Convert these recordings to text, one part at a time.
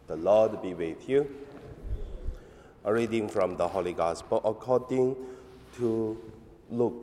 The Lord be with you. A reading from the Holy Gospel according to Luke.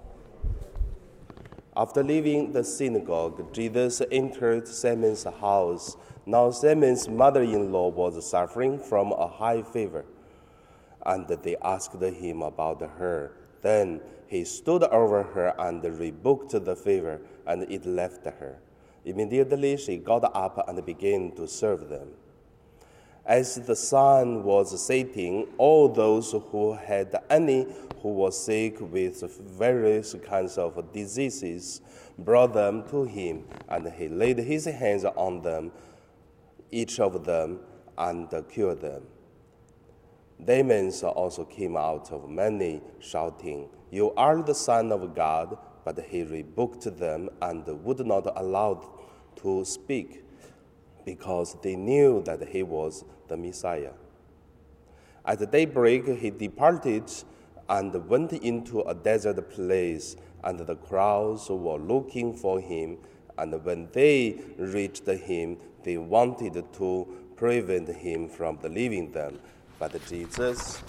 After leaving the synagogue, Jesus entered Simon's house. Now Simon's mother-in-law was suffering from a high fever, and they asked him about her. Then he stood over her and rebuked the fever, and it left her. Immediately she got up and began to serve them. As the sun was setting, all those who had any who was sick with various kinds of diseases brought them to him, and he laid his hands on them, each of them, and cured them. Demons also came out of many, shouting, "You are the Son of God," but he rebuked them and would not allow to speak, because they knew that he was the Messiah. At daybreak he departed and went into a desert place, and the crowds were looking for him. And when they reached him, they wanted to prevent him from leaving them. But Jesus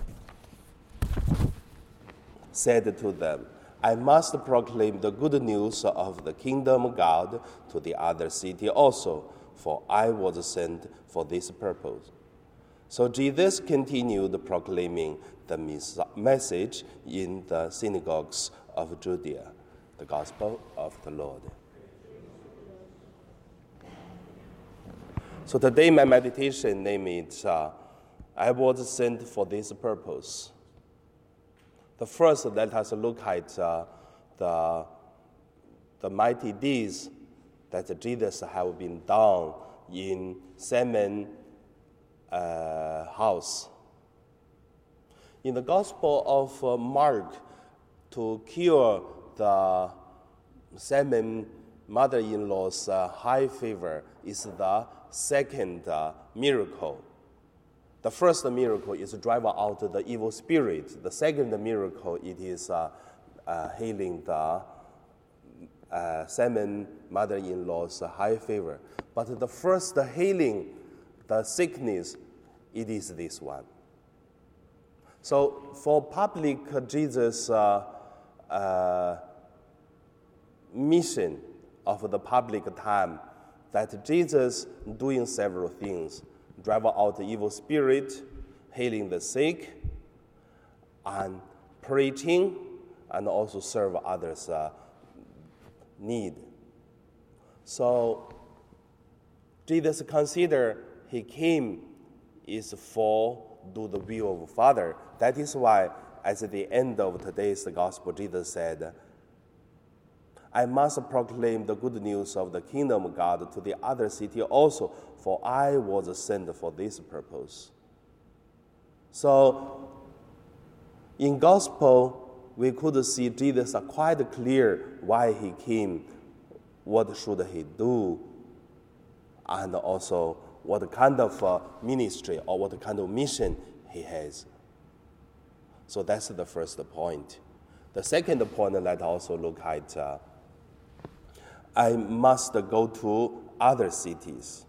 said to them, "I must proclaim the good news of the kingdom of God to the other city also, for I was sent for this purpose." So Jesus continued proclaiming the message in the synagogues of Judea. The Gospel of the Lord. So today my meditation name is I was sent for this purpose. The first, let us look at the mighty deeds that Jesus have been done in Simon's house. In the Gospel of Mark, to cure the Simon mother-in-law's high fever is the second miracle. The first miracle is to drive out the evil spirit. The second miracle, it is healing the Simon mother-in-law's high fever. But the first healing, the sickness, it is this one. So for public Jesus' mission of the public time, that Jesus doing several things: drive out the evil spirit, healing the sick, and preaching, and also serve others' need. So Jesus considered he came is for do the will of Father. That is why at the end of today's gospel, Jesus said, "I must proclaim the good news of the kingdom of God to the other city also, for I was sent for this purpose." So in gospel, we could see Jesus quite clear why he came, what should he do, and also what kind of ministry or what kind of mission he has. So that's the first point. The second point, let's also look at I must go to other cities.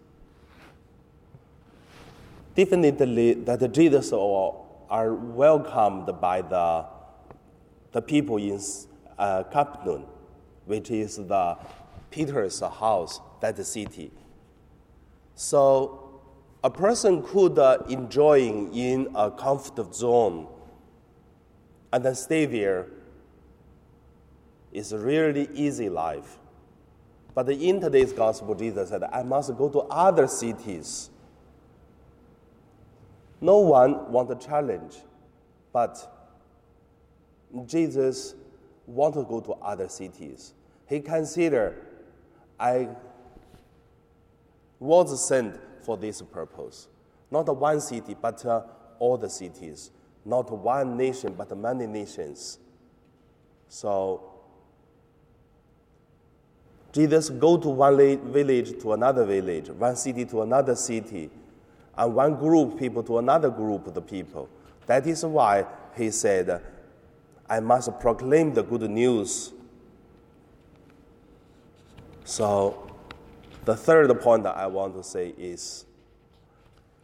Definitely that Jesus are welcomed by the people in Capernaum, which is the Peter's house, that city. So a person could enjoy in a comfort zone and then stay there. It's a really easy life. But in today's gospel, Jesus said, "I must go to other cities." No one wants a challenge, but Jesus wants to go to other cities. He considered, I was sent for this purpose. Not one city, but all the cities. Not one nation, but many nations. So Jesus go to one village to another village, one city to another city, and one group of people to another group of the people. That is why he said, "I must proclaim the good news." So the third point that I want to say is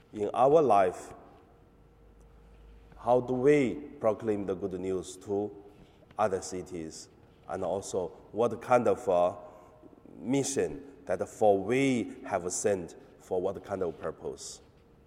in our life, how do we proclaim the good news to other cities? And also, what kind of mission that for we have sent for what kind of purpose?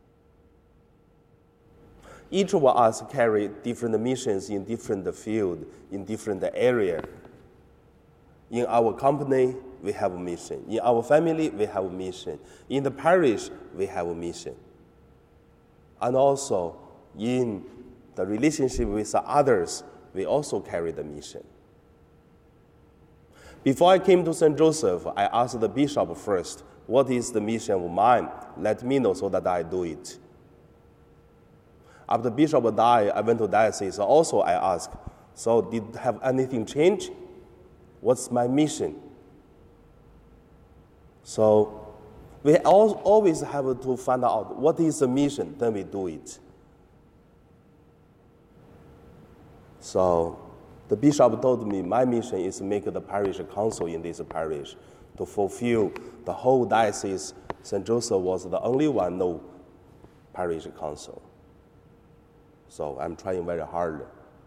Each of us carry different missions in different field, in different area. In our company, we have a mission. In our family, we have a mission. In the parish, we have a mission. And also, in the relationship with others, we also carry the mission. Before I came to St. Joseph, I asked the bishop first, what is the mission of mine? Let me know so that I do it. After the bishop died, I went to diocese. Also, I asked, so did have anything change? What's my mission? So we always have to find out what is the mission, then we do it. So the bishop told me my mission is to make the parish council in this parish to fulfill the whole diocese. St. Joseph was the only one no parish council. So I'm trying very hard.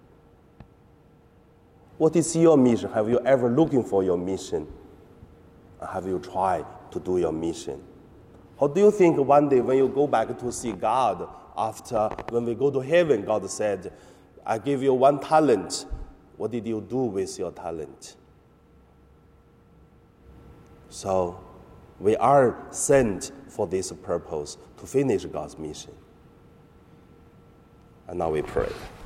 What is your mission? Have you ever looking for your mission? Have you tried to do your mission? How do you think one day when you go back to see God, after when we go to heaven, God said, I give you 1 talent. What did you do with your talent? So we are sent for this purpose, to finish God's mission. And now we pray.